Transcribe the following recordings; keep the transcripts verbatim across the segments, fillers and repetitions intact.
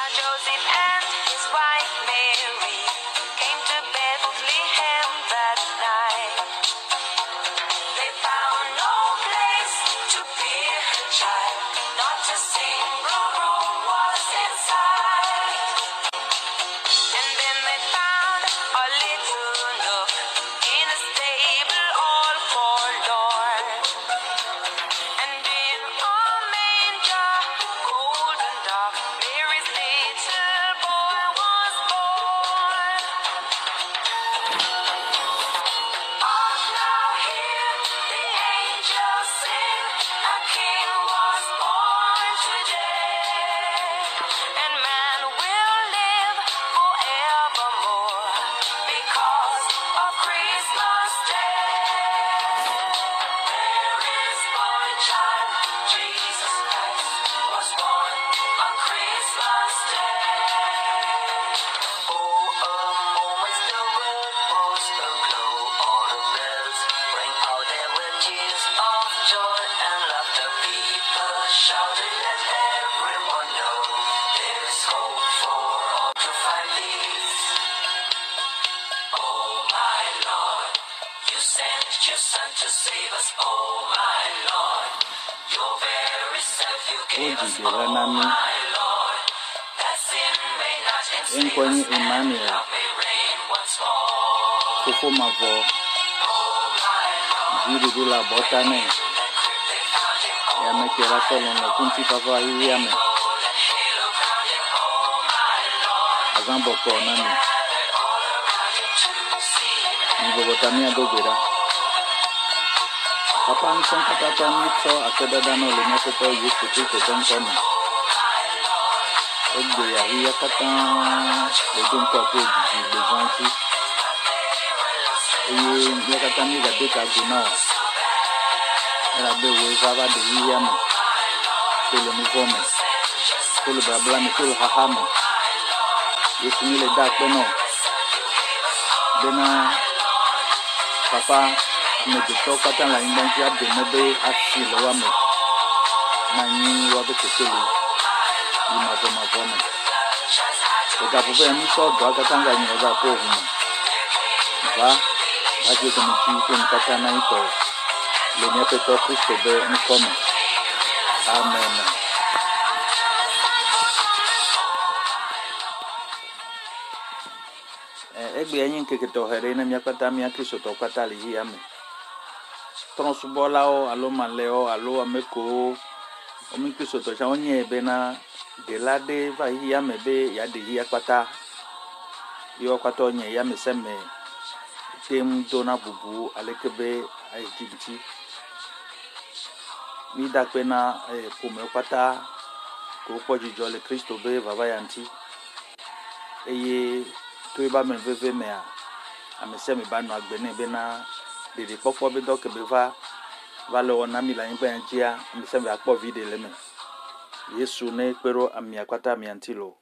Joseph and his wife Mary came to Bethlehem that night. They found no place to bear her child, not a single room was inside. And then they found a little nook in a stable all forlorn. And in a manger, cold and dark, Mary's little boy was born. Hark now, hear the angels sing, a king was born today, and man will live forevermore because of Christmas Day. There is born a child, Jesus Christ was born on Christmas Day. Oh, a moment the world was aglow, all the bells rang out, there were tears of joy and laughter. People shouted, let everyone know there's hope for all to find peace. Oh my Lord, you sent your Son to save us. Oh my Lord, your very self you gave us. Oh my Lord, that sin may not enslave Enkwanye us, and Emmanuel. love may reign once more. Kofo Mavo, Oh my Lord, Jiri Dula Botane, that crypt they found him. Oh Yamekera Solon, Kunti Papa Yame, that halo crowned him. Oh my Lord, Azambo Konami, gathered all around him to see him. Nibotamia Dogera. Papa Nson Katata Nitso, Akedadano, Lemeseto, used to take a Johnson. Egbe Yahia Kata, the Junko Podi, the Zanti. Eye Yakatani, the Deka Guna. And I be with Zava de Yam, Tulumivome, Tulubablami, Tulhahamo. You see the dark Beno. Then, Papa, I made the talk at a line, then you have the Mebe at Silawame. Nani, what the Kisili, you must have my woman. The Gapovani saw Dragatanga in the Gapovum. Va, I get them to you in Katanaito. Lenepeto Christo Be Nkome. Amen. Egbe yanyin keketo here na miakata miakiso to katali hi ame. Transbola o alo maleo alo ameko omikiso to cha onye ebe na delade va hi ame be ya de hi akpata. Yo akpata onye ya meseme tem dona bubu alekebe a Egypti. Mi dakpe na e pome akpata ko poji jole Kristo be baba yanti. Eye to ba me veve me a amese me ba no agbene be na dede popo be doke be va va lo na mi la yin gba njia amese me akpo video le me Yesu ne pero ami akwata mi antilo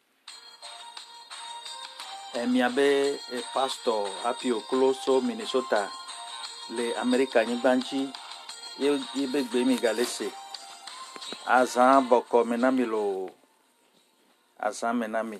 e mi abe e pastor Happy Okoloso Minnesota le America yin banji ye be gbe mi galese azan boko menami lo azan menami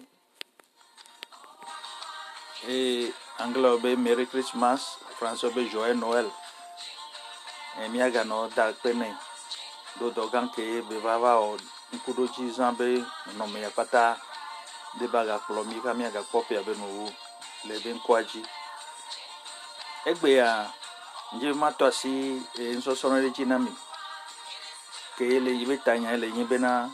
et anglais be Merry Christmas, français be Joyeux Noël. Et miaga no da pene do dogan ke be baba o nkudo ji zambe no me yakata de baga plomi ka miaga pope abe no le ben kwaji. Egbe ya nje mato si e nso sono le jinami ke le yibe tanya le yibe na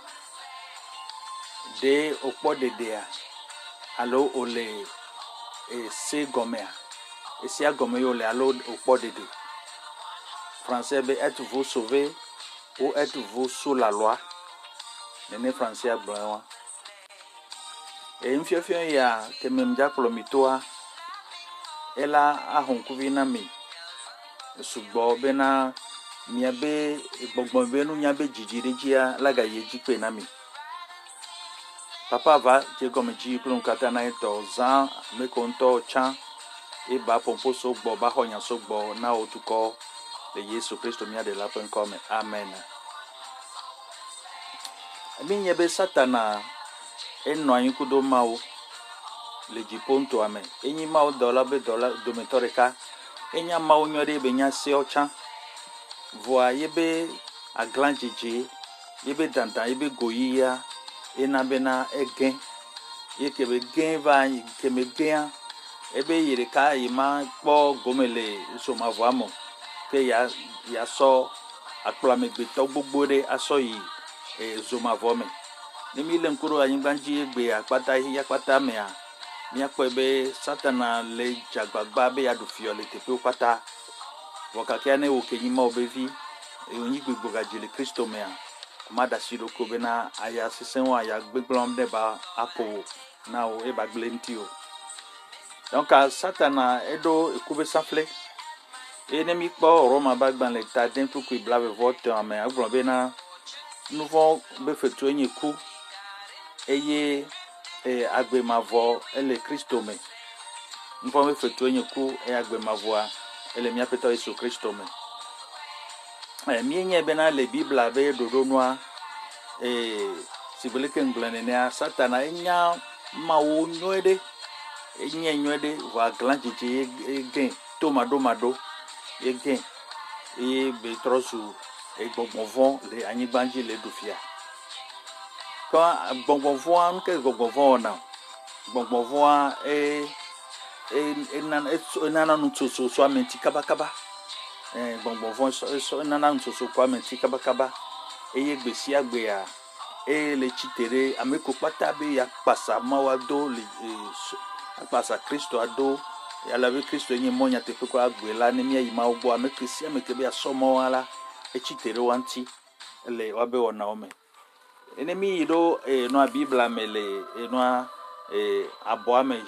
de opo de dea alo ole et c'est gommé et si a gommé yo le alo au port de deux français be êtes-vous sauvé ou êtes-vous sous la loi nene français blanc et mfiofio ya ke memja plomitoa ela ahonkuvi na mi sugbo be na miabe gbogbo be nu nyabe jijirejia laga yejipe na mi papa va je comme ji plon katana to zan me konto chan e ba pompo so gbo ba honya so gbo na otuko le Yesu Kristo mia de la pen come amen. Ami nyebe satana enɔ anyi kudo mawo le dziƒo ŋutɔa me enyi mawo dɔla be dɔla dometɔ ɖeka enya mawo nyɔ ɖe be nya sewo tsã vɔa yebe aglã dzedze yebe dada yebe goyia ena bena egẽ ye kebe gẽ va keme gẽa ebe yi ɖeka yi ma kpɔ gome le zomavɔa me ke ya ya sɔ akplɔamegbetɔ gbogbo ɖe asɔ yi e, zomavɔ me ne mi le ŋku ɖo anyigba dzi egbe akpata ya kpata mea miakpɔe be satana le dzagbagba be yaɖu fiɔ le teƒewo kpata vɔ kakea ne wo ke nyi mawo be vi wonyi gbogbo gadzi le kristo mea ma ɖe asi ɖoko bena aya sesẽwo aya gbegblɔm ɖe ba aƒo na wo eba gblẽ ŋuti o donc satana eɖo eku be safle eye ne mi kpɔ Roma be agbalẽ ta de kpukpui blavevɔ tɔa me agblɔ bena nu vɔ be fetue nye ku eye e, agbemavɔ ele kristo me nu vɔ be fetue nye ku eye agbemavɔa ele miaƒetɔ Yesu kristo me e, mienye bena le bibla be ɖoɖonua e, si gbe leke ŋgblẽ nenea satana enya mawo nyuie ɖe enye nyuie ɖe vɔ aglã dzedze egẽ to maɖomaɖo egẽ eye be trɔ zu gbɔgbɔvɔ le anyigba dzi le ɖu fia ke gbɔgbɔvɔa nu ke gbɔgbɔvɔ wɔna gbɔgbɔvɔa e enana enana nutsotso sɔ ame ŋuti kabakaba e gbɔgbɔvɔ enana nutsotso kɔ ame ŋuti kabakaba eye gbe sia gbea eye le tsitre ɖe ame ko kpata be yakpasa mawoa do le akpasa kristo ado yala be kristo nye mɔ nyateƒe kɔ agbe la ne miayi mawo gbɔ ame ke sia ame ke be asɔ mawoa la etsitre ɖe wa ŋuti le woabe wɔnawo me ene mi yi ɖo enɔa bibla me le enɔa abɔa me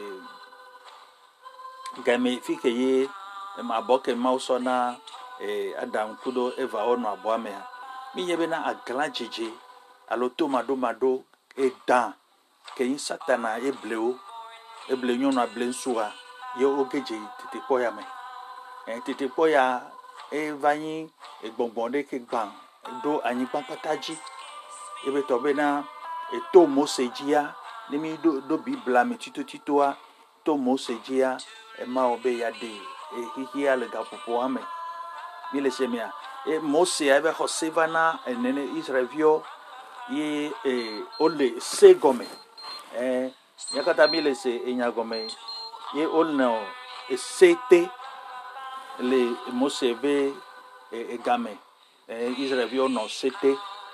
game fi ke ye abɔ ke mawo sɔ na Adam kudo Eva wonɔ abɔa mea mi nye bena aglã dzedze alo to maɖomaɖo edã ke nyi satana eblewo eble nyɔnua ble ŋutsua ye wo gedze tetekpɔ ya me tetekpɔ ya eva nyi gbɔgbɔ ɖe ke gbã ɖo anyigba kpata dzi ebe tɔ bena eto Mose dzia ne mi ɖo ɖo bibla me titotitoa to Mose dzia ema wo be ya ɖe xixia le gaƒoƒoa me mi le se mea e Mose ebe xɔ se va na enene Israelviwo ye e wole se gɔme e ya katã mi le se enya gɔme ye wonɔ ese te le Mose be egame Israelviwo nɔ se te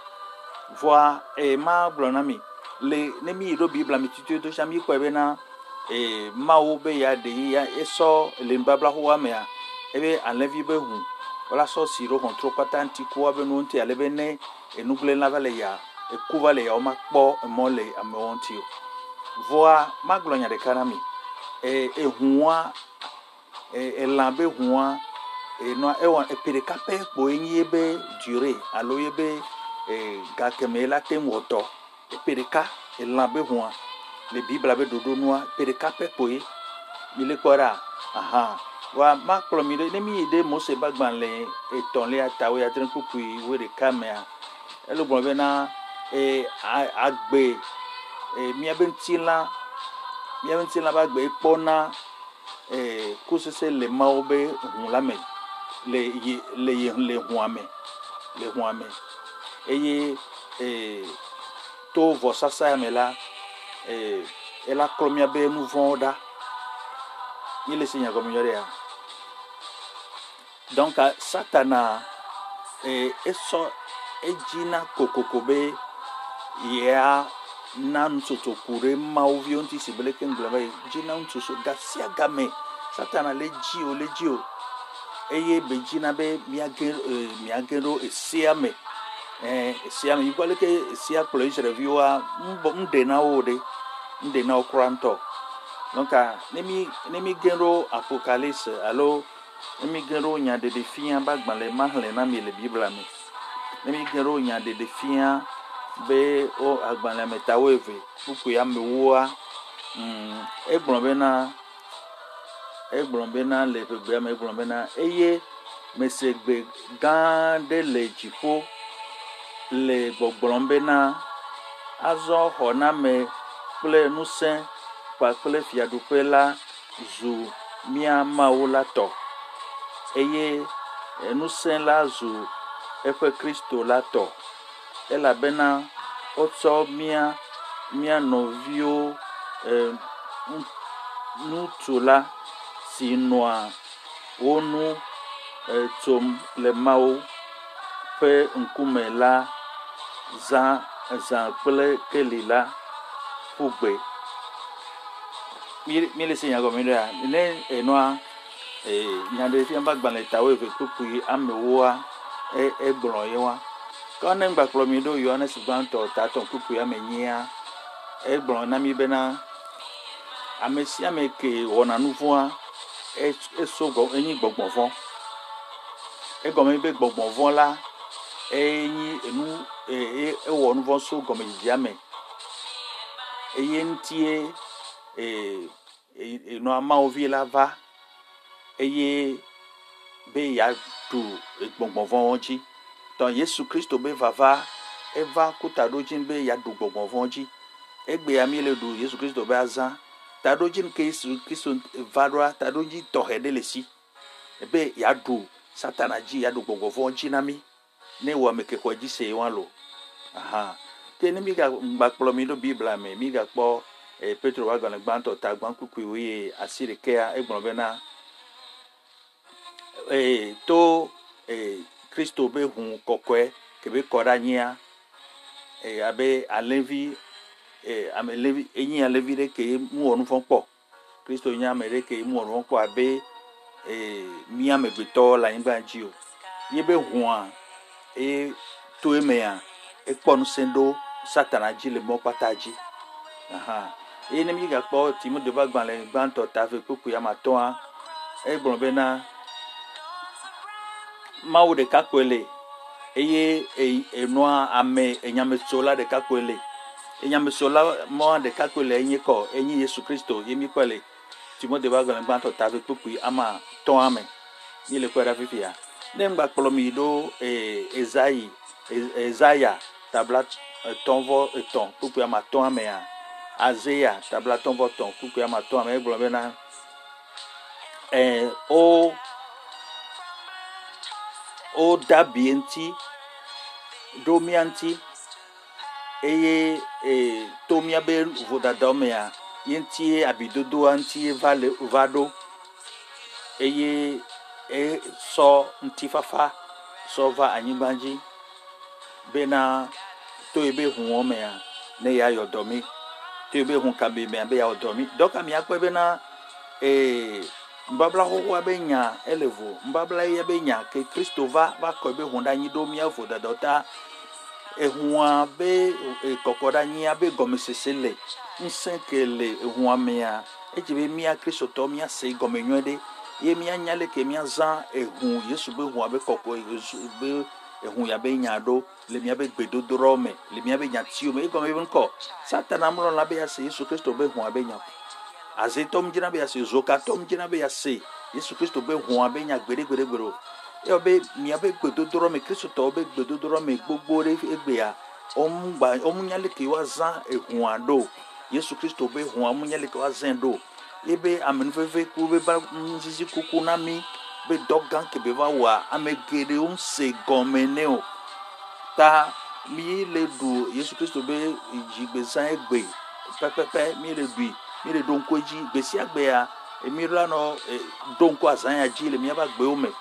vɔa e ma gblɔ na mi le ne mi yi ɖo bibla me titito sia mi kpɔe bena e mawo be ya ɖe ya esɔ le nubabla xoa mea ebe alẽvi be hu wala sɔ si ɖo xɔtro kpata ŋuti ku woabe nuwo ŋuti ale be ne enugblẽla va le ya eku va le ya woma kpɔ emɔ le amewo ŋuti o vɔa ma gblɔ nya ɖeka na mi e ehua elã be hua enɔa ewɔ epe ɖeka pɛ kpoe nyi ebe dure alo ebe gakeme la te ŋu wɔtɔ epe ɖeka elã be hua le bibla be ɖoɖonua epe ɖeka pɛ kpoe mi le kpɔ ɖa aha wa ma kplɔ mi ɖe ne mi yi ɖe Mose be agbalẽ etɔ̃lia tawo ya tre kpukpui wo ɖeka mea ele gblɔ bena e agbe miabe ŋutilã miabe ŋutilã be agbe ekpɔna e kusese le mawo be hu la me le yi le yi le hua me le hua me eye e to vɔsasa ya me la e ela klɔ miabe nu vɔ̃wo ɖa mi le se nyagɔme nyɔ ɖea donc satana e esɔ edzina kokoko be ya na nutsotso ku ɖe mawo viwo ŋuti si be leke ŋgblẽ be dzina nutsotso ga sia game satana le dzi o le dzi o eye be dzina be miage miage ɖo esea me eh esea me yibɔ leke esea kplɔ Israelviwoa ŋɖe na wo ɖe ŋɖe na wo kura ŋutɔ donc ne mi ne mi ge ɖo Apocalypse alo ne mi ge ɖo nyaɖeɖe fia be agbalẽ ma xlẽ na mi le bibla me ne mi ge ɖo nyaɖeɖe fia be o agbalẽ me ta wo eve kpukpui amewoa mm egblɔ bena egblɔ bena le ƒegbea me egblɔ bena eye mesegbe gã ɖe le dziƒo le gbɔgblɔm bena azɔ xɔname kple ŋusẽ kpakple fiaɖuƒe la zu mía Mawu la tɔ eye ŋusẽ la zu eƒe Kristo la tɔ elabena wotsɔ mía mía nɔviwo e, ŋutsu la si nɔa wo nu e, tsom le Mawu ƒe ŋkume la zã zã kple keli la ƒu gbe. Mi le se nyagɔme ɖea ne enɔa nyaɖe fia ba gbalẽ tawo eve kpukpui amewoa egblɔ ye wa ke ne gbakplɔ mi ɖo Yohanes gbãtɔ tatɔ kpukpui ame nyia egblɔ na mi bena ame sia ame ke wɔna nu vɔ̃a eso enyi gbɔgbɔvɔ egɔme be gbɔgbɔvɔ la enyi enu ewɔ nu vɔ̃ so gɔmedzedzia me eye ŋutie enɔa Mawu la va eye be yaɖu gbɔgbɔvɔ dzi tɔ Yesu Kristo be vava eva kuta ɖo dzi be yaɖu gbɔgbɔvɔ dzi egbea mi le ɖu Yesu Kristo be azã ta ɖo dzi ke Yesu Kristo va ɖoa ta ɖo dzi tɔxɛ ɖe le si be yaɖu Satana dzi yaɖu gbɔgbɔvɔ dzi na mi ne wɔ ame ke xɔ dzi se wa lo aha ke ne mi ga gbakplɔ mi ɖo Biblia me mi ga kpɔ Petro wa gbalẽ gbãtɔ ta gbã kpukpui woe asi ɖekea egblɔ bena e to e Kristo be hu kɔkɔe ke be kɔ ɖe anyia e abe alevi e ame levi enyi alevi ɖe ke mu wɔ nu vɔ̃ kpɔ Kristo nye ame ɖe ke mu wɔ nu vɔ̃ kpɔ abe e mi amegbetɔ le anyigba dzi o ye be hua e to emea ekpɔ ŋusẽ ɖo Satana dzi le mɔ kpata dzi aha eye ne mi ga kpɔ Timote ƒe agbalẽ gbãtɔ ta ve kpukpui ame atɔ̃a egblɔ bena Mawu ɖeka koe le eye enɔa ame enyametsola ɖeka koe le enyametsola mɔa ɖeka koe le enye kɔ enyi Yesu Kristo ye mi kpɔ le Timote ƒe agbalẽ gbãtɔ ta ve kpukpui ame atɔ̃a me mi le kpɔ ɖa fifia ne ŋgba kplɔ mi ɖo Ezayi Ezaya tabla etɔ̃ etɔ̃ kpukpui ame atɔ̃a mea Azeya tabla etɔ̃ vɔ etɔ̃ kpukpui ame atɔ̃a me egblɔ bena eh o o dabi ŋuti ɖo mía ŋuti eye e to mía be vodadawo mea ye ŋutie abidodoa ŋutie va le va ɖo eye esɔ ŋutifafa sɔ va anyigba dzi bena to ye be huwɔ mea ne yayɔ dɔ mi to ye be hu kame mea be yawɔ dɔ mi dɔka miakpɔe bena e Mbabla xoxoa be nya ele vo mbabla ye be nya ke Kristo va va kɔ be hu ɖe anyi ɖo mía vodadawo ta ehua be kɔkɔ ɖe anyi be gɔmesese le ŋusẽ ke le ehua mea edzi be mía Kristotɔ mía se gɔme nyuie ɖe ye mía nya le ke mía zã ehu Yesu be hua be kɔkɔ be ehu ya be nya ɖo le mía be gbedodoɖɔ me le mía be nyatiwo me egɔme be ŋkɔ Satana mlɔ la be ya se Yesu Kristo be hua be nya azetɔ mu dzina be ya se zokatɔ mu dzina be ya se Yesu Kristo be hua be nya gbeɖe gbeɖe gbeɖe o ye be mía be gbedodoɖɔ me Kristotɔwo be gbedodoɖɔ me gbogbo ɖe egbea ɔmu gba ɔmu nya le ke wa zã ehua ɖo Yesu Kristo be hua mu nya le ke wa zã ɖo ye be amenuveve ku be ba ŋuzizi kuku na mi be dɔ gã ke be va wɔa ame geɖewo ŋse gɔme ne o ta mi le ɖu Yesu Kristo be dzigbezã egbe pɛpɛpɛ mi le ɖui mi le ɖo ŋku dzi gbe sia gbea mi la nɔ ɖo ŋku azã ya dzi le míaƒe agbewo me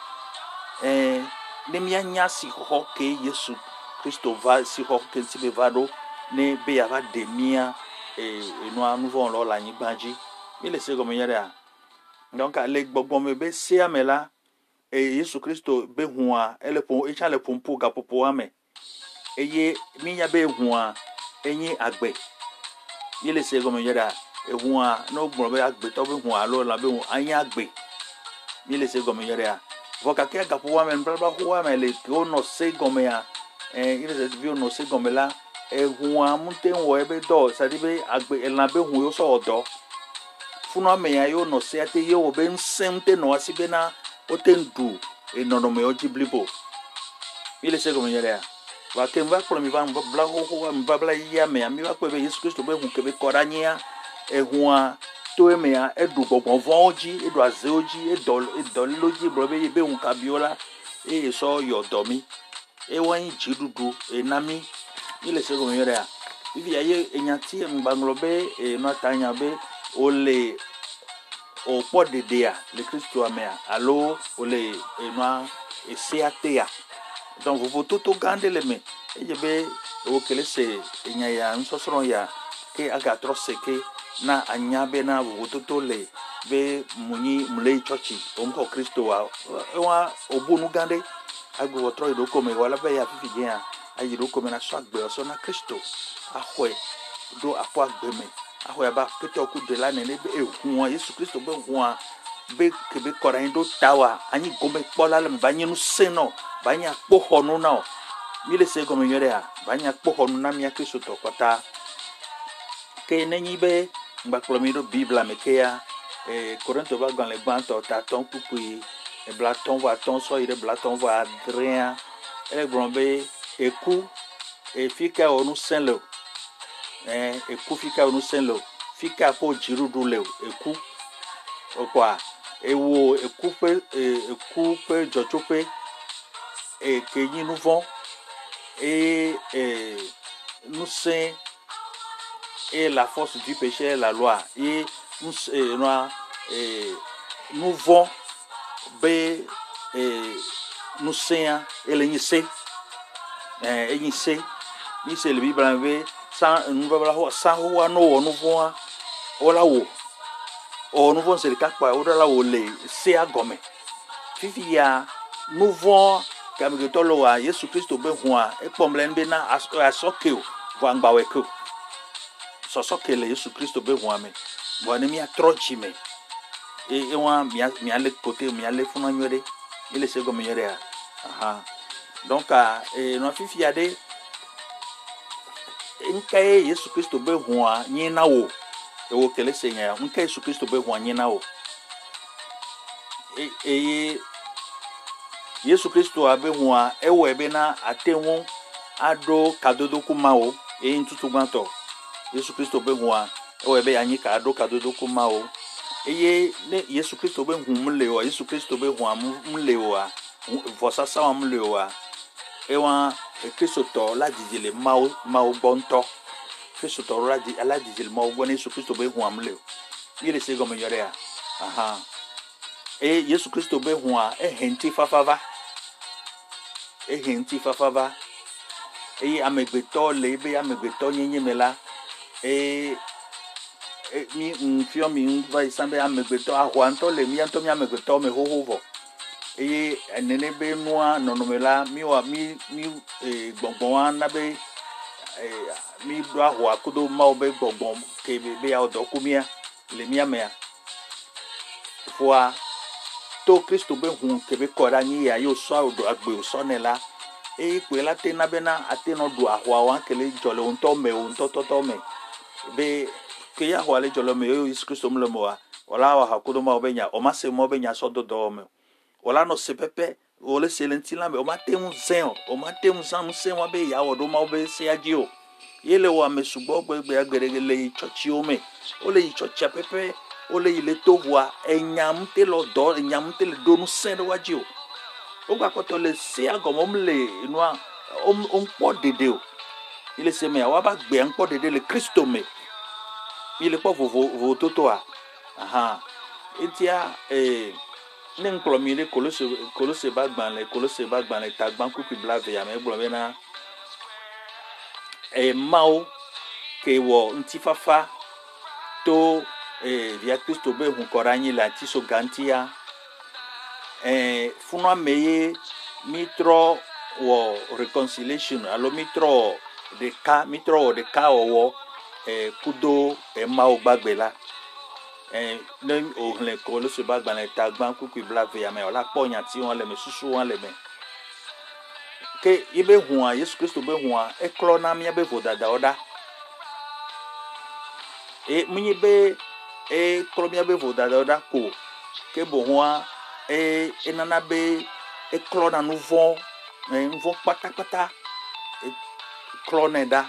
eh ne mianya si xɔxɔ ke Yesu Kristo va si xɔxɔ ke ŋuti be va ɖo ne be ya va ɖe mía enɔa nu vɔ̃ wɔlawo le anyigba dzi mi le se gɔme nye ɖea donc le gbɔgbɔme be sea me la Yesu Kristo be hua ele ƒo etsã le ƒoƒo gaƒoƒoa me eye mi nya be hua enyi agbe mi le se gɔme nye ɖea ehua no gblɔ be agbetɔ be hua alo la be anyi agbe mi le se gɔme nye ɖea vɔ gake gaƒoƒoa me nubabla xoxoa me le ke wonɔ se gɔmea eh ile se vi wonɔ se gɔme la ehua mute wɔ ebe dɔ sa di be agbe elã be hu yo sɔ wɔ dɔ funua me ya yo nɔ se te ye wɔ be ŋusẽ te nɔ asi bena wote ŋdu enɔnɔmewo dzi blibo mi le se gɔme nye ɖea va ke va kplɔ mi va bla xoxo mi va bla yia mea mi va kpɔ be Yesu Kristo be hu ke be kɔ ɖe anyia ehua to emea eɖu gbɔgbɔ vɔwo dzi eɖu azewo dzi edɔ edɔlilo dzi gblɔ be be hu kabiwo la eye sɔ yɔ dɔ mi ewa nyi dziɖuɖu ena mi mi le se gɔme yɔ ɖea vivi ye enyati ŋgbaŋlɔ be enɔ ta nya be wole o kpɔ dedea le Kristoa mea alo wole enɔa esea tea donc vovototo gã aɖe le me eye be wo kele se enya ya nusɔsrɔ̃ ya ke agatrɔ se ke na anya be na vovototo le be munyi mle tsɔtsi omxɔ Kristoa ewa obu nu gã aɖe agbo trɔ yi ɖo me wala be ya fifi dzia ayi ɖo me na sɔ agbe sɔ na Kristo axɔe do akɔ agbe me axɔe ba ketɔ ku de la nene be ehua Yesu Kristo be hua be ke be kɔ ɖe anyi ɖo ta wa anyi gome kpɔ la le me ba nye nu senɔ ba nye akpɔxɔnu na o mi le se gɔme nyɔ ɖea ba nye akpɔxɔnu na mia Kristo tɔ kɔta ke nenyi be ŋgbakplɔ mi ɖo Bibla me ke ya e Korinto ba gbalẽ gbãtɔ tatɔ kpukpui eblatɔ vɔ atɔ sɔ yi ɖe blatɔ vɔ adrea ele gblɔ be eku efi ka wɔ nu sẽ le o eh eku fi ka wɔ nu sẽ le o fi ka ƒe dziɖuɖu le o eku okwa ewo eku ƒe eku ƒe dzɔtsoƒe e ke nyi nu vɔ et e nu sẽ et la force du péché est la loi et nous euh, euh, nous vont be euh, nous saint et le nyse euh et nyse ni c'est le Bible be sans nous va la sans wa no nous vont ola wo o nous vont c'est le cas quoi o la wo le c'est à gomme fifi ya nous vont comme que to lo wa Yesu Kristo be hua e pomlen be na asokeo va ngbawe ko sɔsɔ kele Yesu Kristo be hua me bo ne mi atrochi me e e wa mi mi ale côté mi ale funa nyore ile se go mi nyore a aha donc a e no fifi ade nkai Yesu Kristo be hua nyi na wo e wo kele se nya nkai Yesu Kristo be hua nyi na wo e e Yesu Kristo abe hua e wo ebe na atenwo ado kadodo kuma wo e ntutu gbanto Yesu Kristo be hua o ebe anyi ka ado kadodo kuma o eye ne Yesu Kristo be hu mle o Yesu Kristo be hua mle o a vosa sa mle o a ewa Kristo to la dijile mawo mawo gbonto Kristo to la di ala dijile mawo gbon Yesu Kristo be hua mle o yele se go me yore a aha e Yesu Kristo be hua e henti fafava e henti fafava e amegbeto le be amegbeto nyenye mela e mi nfio mi va isambe amegbeto ahwanto le mi anto mi amegbeto me hohovo e enene be noa nonomela mi wa mi mi e gbongbon na be e mi do ahwa kudo ma obe gbongbon ke be be ya odokumia le mi amea fois to Kristo be hun ke be kora ni ya yo so odo agbe o so nela e pe la te na be na ate no do ahwa wa ke le jole unto me unto toto me be ke ya hwale jolo me yo Yesu Kristo mlo moa wala wa hakudo ma obenya o ma se mo obenya so do do me wala no se pepe o le selenti la me o ma te un zen o ma te un zan se mo be ya wo do ma obe se aji o yele wa me sugbo gbegbe agbere le church o me o le church pepe o le ile to wa enyam te lo do enyam te le do nu sen do waji o o gba ko to le se agomo mle inu a o npo dede o ile se me wa ba gbe npo dede le Kristo me ile po vovo vo toto a aha etia eh ne nklo mi le kolose kolose ba gban le kolose ba gban le ta gban ku pi blave ya me gblo be na e mao ke wo ntifafa to eh via Kristo be hun koranyi la ti so gantia eh funwa meye mitro wo reconciliation alo mitro de ka mitro de ka owo eh kudo e mao gbagbe la eh le o le ko lo se bagba le ta gban ku ku blave ya me ola po yan ti won le me susu won le me ke ibe huan Yesu Kristo be huan e klo na mi be vodada oda e munyi be e klo mi be vodada oda ko ke bo huan e enana be e klo na nouveau e nouveau patapata e clone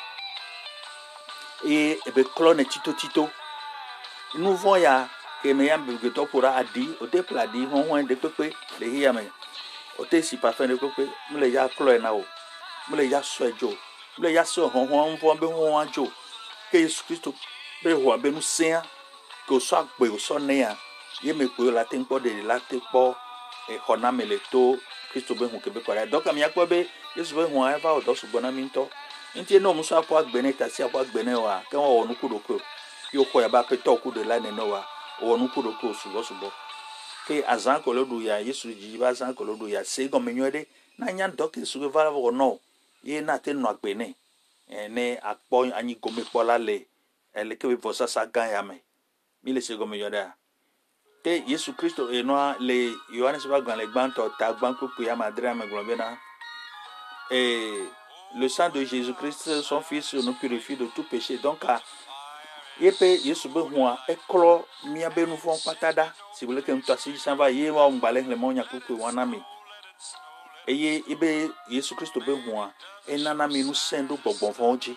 et ebe clone tito tito nous voyons ya que me yam be to pura adi o te pladi hon hon de pepe le hi yame o te si parfum de pepe me le ya clone na o me le ya so ejo me le ya so hon hon vo be hon ajo que Jesus Christ be ho be nu sen que o so agbe o so ne ya ye me pe la te npo de la te po e hona me le to Christ be hu ke be kwara donc am yakpo be Jesus be hu eva o do so gbona mi nto nti no muso apo agbene tasi apo agbene wa ke won wonu kudoko yo ko ya ba pe to ku de la ne no wa wonu kudoko subo subo ke azan ko lodu ya Yesu ji ba azan ko lodu ya se go menwede na nya doke su va wo no ye na te no agbene ene apo anyi go me pola le ele ke be vosa sa gan ya me mi le se go menwede te Yesu Kristo e no le Yohanes ba gan le gban to ta gban ku ya madre me globé na et le sang de Jésus-Christ son fils nous purifie de tout péché donc à yepe Yesu be hua eklo mia be nu fon patada si vous voulez que nous tassi ça va ye wa mbale le monya ku ku wana mi eye ibe Yesu Kristo be hua enana mi nu sendo bogbon fonji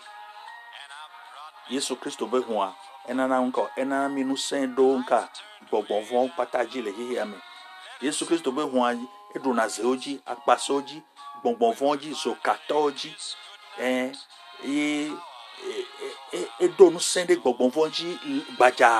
Yesu Kristo be hua enana nko enana mi nu sendo nka bogbon fon pataji le hihi ame Yesu Kristo be hua edu na zeoji akpasoji bonbon vonji so katoji eh e e e do no sende bonbon vonji baja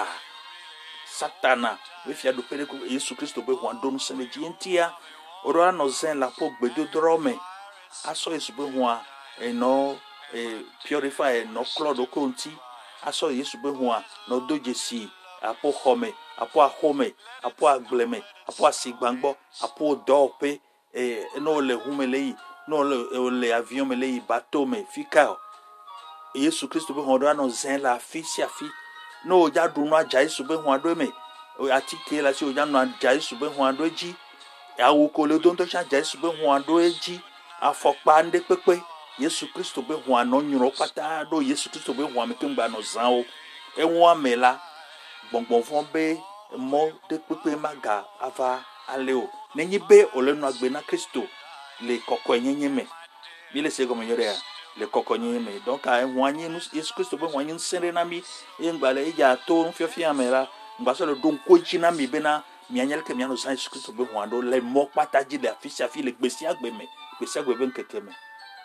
satana we fia do pere ko Yesu Kristo be hwan do no sende ji entia oro no zen la po gbedo drome aso Yesu be hwan e no e purify no clodo konti aso Yesu be hwan no dojesi apo home apo ahome apo agbleme apo asigbangbo apo dope et non le humeli non le le avion meli bateau me fika Yesu Kristo be hondo no zen la fi si afi no ja du no aja Yesu be hondo me atike la si o ja no aja Yesu be hondo ji awu ko le don to cha ja Yesu be hondo eji afokpa nde pepe Yesu Kristo be hondo nyuro pata do Yesu Kristo be hondo me kengba no zan o e won amela gbongbon fon be mo de pepe maga ava aleo nenyi be ole no agbe na Kristo le koko enyenye me bi le se go meyore ya le koko enyenye me donc a hwanyi nu Yesu Kristo be hwanyi nsere na mi e ngbale e ja to nfiofia amera ngba so le don ko chi na mi be na mi anyel ke mi anu san Yesu Kristo be hwando le mo pataji le afisi afi le gbesi agbe me gbesi agbe be nkeke me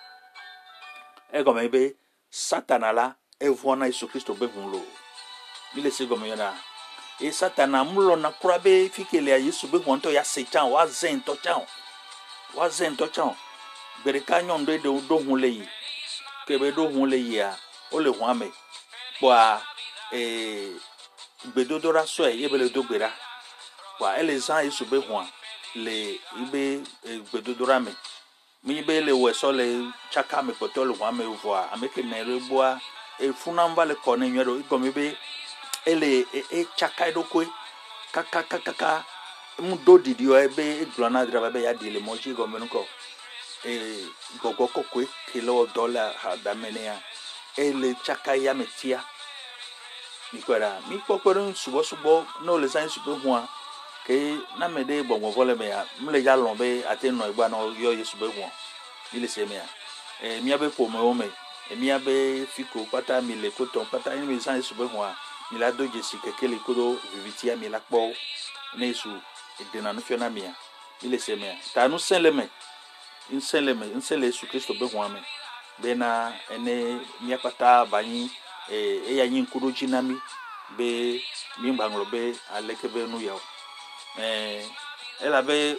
e go me be satana la e vona Yesu Kristo be hunlo bi le se go meyora e satana mulo na kurabe fikele ya Yesu be hwanto ya sechan wa zen to chan wa zen to chan bere ka nyon do do do hun le yi ke be do hun le yi a o le hun ame kwa e gbedodora so e be le do gbera kwa ele zan Yesu be hwan le ibe gbedodora me mi be le we so le chaka me poto le hun ame vo a ameke na re boa e funa mba le kone nwero igo mi be ele e chaka edokwe kaka kaka kaka mu do didi o ebe glona draba be ya dile moji go menuko e gogo kokwe kilo dollar ha da menea ele chaka ya metia nikwara mi kokoro subo subo no le san subo hua ke na mede gbongbon vole me ya mle ya lon be ateno igba no yo Yesu be hua ile se me ya e mi abe po me o me e mi abe fiko pata mi le koton pata ni mi san Yesu be hua mi la do jesi kekele kodo vivitia mi la kpo nesu edena no fiona mia ile se me ta no senleme inseleme insele Yesu Kristo be hwa me be na ene mi apata bani e e ya yin kodo jinami be mi mbanglo be aleke be nu yawo eh ela be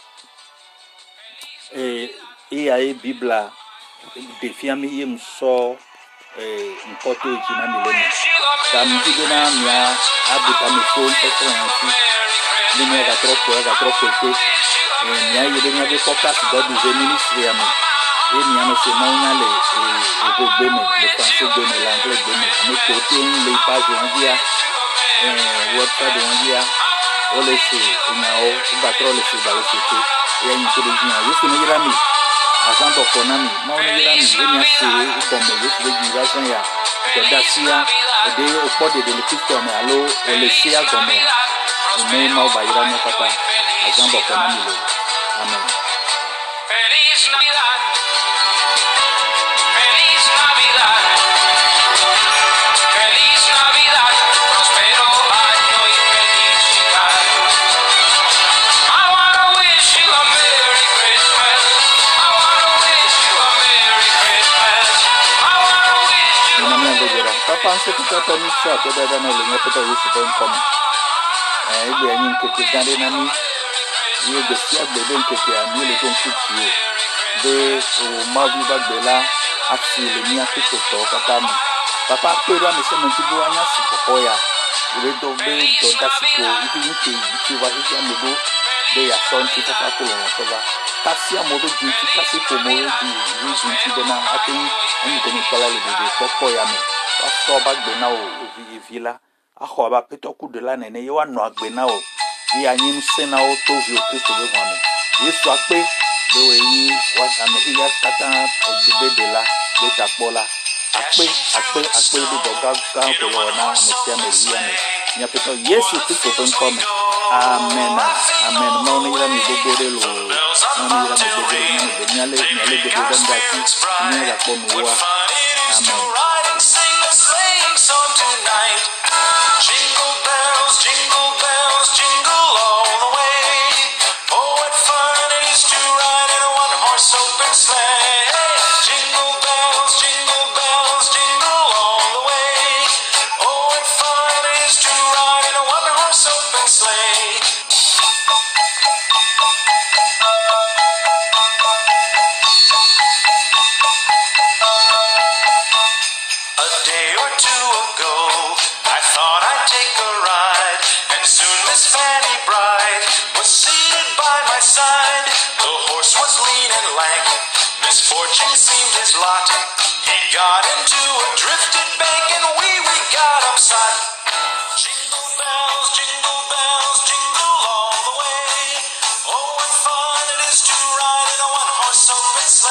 eh e ya e bibla defia mi yem so eh nkoto jinami le samedi be na mia abuta me so nkoto yanti ni me ga trop ga trop que eh mia yede mia be podcast God is ministry am e mia no se maunya le e go gbe me le français gbe me l'anglais gbe me me ko te le page on dia eh website on dia o le se na o ba tro le se ba le se te e ni ko do dia yesu me yira mi azambo konami mo ni yira mi e mia se e bo me yesu le yira san ya Dodacia de opode de Kristo me alo olesia gome me ma bayira no papa azambo kona milo amen. Feliz Navidad. Feliz papa nso papa ni so akoda da no le nyepeto yesu ben kom eh igbe anyi nkeke gade na ni ye gbe si agbe ben nkeke ami le don kutuo de o mavi bagbela afi le ni akiko to kata mi papa pero mi se menti bo anya si popo ya le do be do dasiko ibi nke ti wa hija mi do de ya so nti papa ko lo so ba kasi amodo jinti kasi ko mo di ni jinti de na atin ani de ni kala le de popo ya mi aso bagbe na o vi vila aho ba petoku de la nene ye wa no agbe na o yi anyi se na o to vi o Kristo be hwanu yesu ape de we yi wa amehi ya kata de de la de tapola ape ape ape de doga ga ko yo na mesia me ri ame nya peto yesu Kristo be nkome amen amen mo ni ra mi gbogbo de lo mo ni ra mi gbogbo ni de nyale nyale de de nda ki ni ra ko mi wa amen. Jingle bells, jingle bells, jingle all the way. Oh, what fun it is to ride in a one-horse open sleigh. Jingle bells, jingle bells, jingle all the way. Oh, what fun it is to ride in a one-horse open sleigh. A day or two ago, I thought I'd take a ride, and soon Miss Fanny Bride was seated by my side. The horse was lean and lank, misfortune seemed his lot. He got into a drifted bank and